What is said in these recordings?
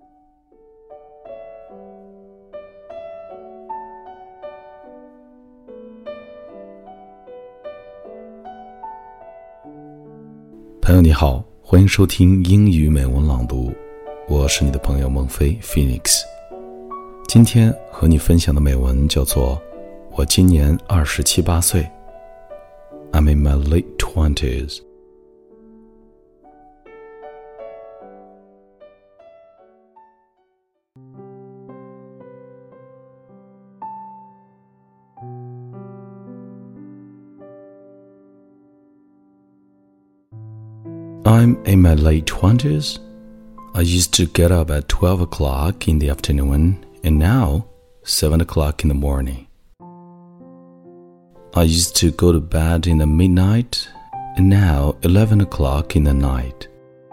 朋友你好，欢迎收听英语美文朗读，我是你的朋友孟非 Phoenix。 今天和你分享的美文叫做我今年27、28岁 I'm in my late 20s。 I'm in my late 20s. I used to get up at 12 o'clock in the afternoon, and now 7 o'clock in the morning. I used to go to bed in the midnight, and now 11 o'clock in the night.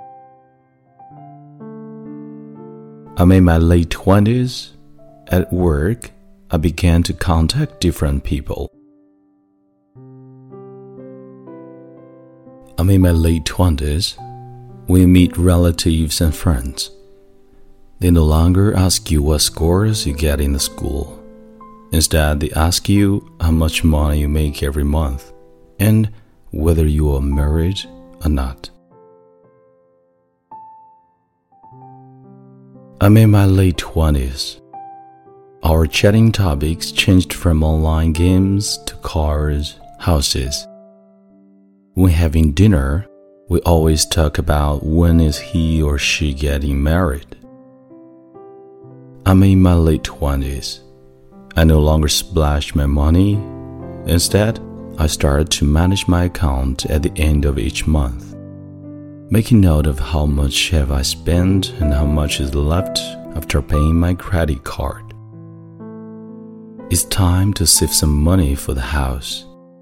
I'm in my late 20s. At work, I began to contact different people. I'm in my late 20s. We meet relatives and friends. They no longer ask you what scores you get in the school. Instead, they ask you how much money you make every month and whether you are married or not. I'm in my late 20s. Our chatting topics changed from online games to cars, houses. When having dinner, we always talk about when is he or she getting married. I'm in my late 20s. I no longer splash my money. Instead, I started to manage my account at the end of each month, making note of how much have I spent and how much is left after paying my credit card. It's time to save some money for the house.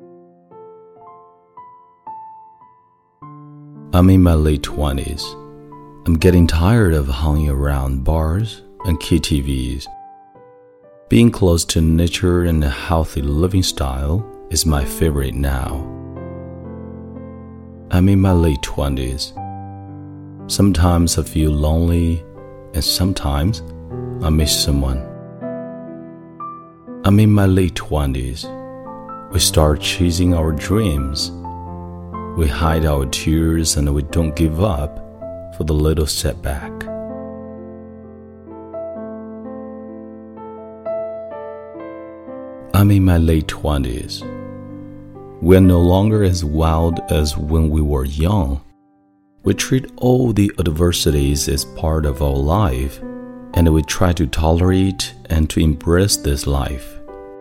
I'm in my late 20s. I'm getting tired of hanging around bars and KTVs. Being close to nature and a healthy living style is my favorite now. I'm in my late 20s. Sometimes I feel lonely, and sometimes I miss someone. I'm in my late 20s. We start chasing our dreams. We hide our tears and we don't give up for the little setback. I'm in my late 20s. We are no longer as wild as when we were young. We treat all the adversities as part of our life, and we try to tolerate and to embrace this life.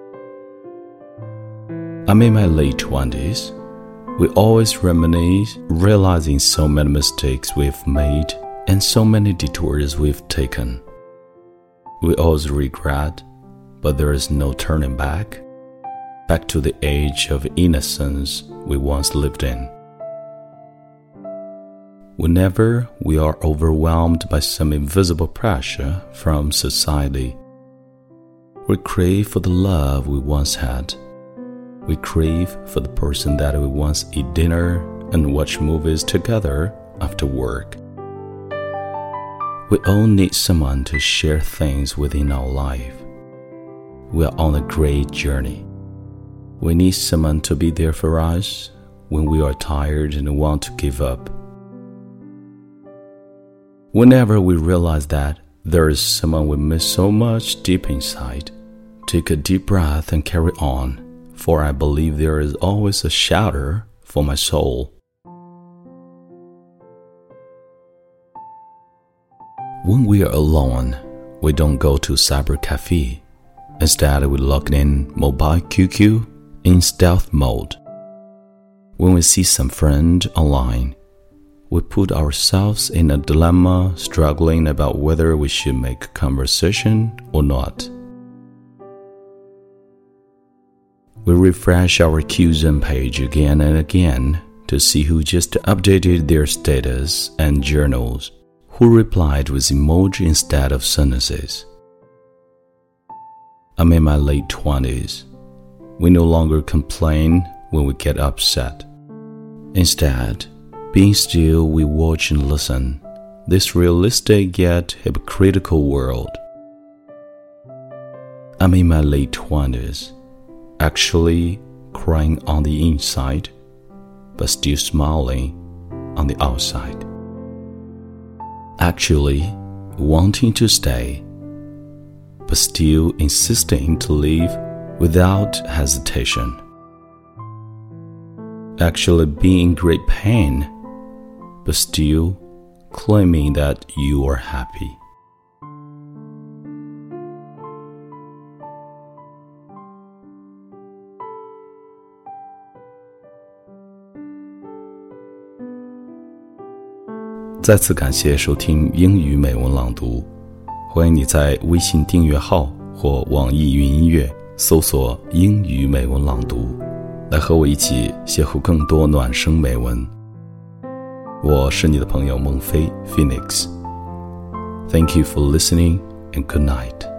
I'm in my late 20s. We always reminisce, realizing so many mistakes we've made and so many detours we've taken. We always regret, but there is no turning back to the age of innocence we once lived in. Whenever we are overwhelmed by some invisible pressure from society, we crave for the love we once had. We crave for the person that we once eat dinner and watch movies together after work. We all need someone to share things within our life. We are on a great journey. We need someone to be there for us when we are tired and want to give up. Whenever we realize that there is someone we miss so much deep inside, take a deep breath and carry on. For I believe there is always a shelter for my soul. When we are alone, we don't go to cyber cafe. Instead, we log in mobile QQ in stealth mode. When we see some friend online, we put ourselves in a dilemma, struggling about whether we should make conversation or not. We refresh our QZone page again and again to see who just updated their status and journals, who replied with emoji instead of sentences. I'm in my late 20s. We no longer complain when we get upset. Instead, being still, we watch and listen, this realistic yet hypocritical world. I'm in my late 20s, actually crying on the inside, but still smiling on the outside. Actually wanting to stay, but still insisting to leave without hesitation. Actually being in great pain, but still claiming that you are happy.再次感谢收听英语美文朗读，欢迎你在微信订阅号或网易云音乐搜索英语美文朗读，来和我一起邂逅更多暖声美文。我是你的朋友孟非 Phoenix。Thank you for listening and good night.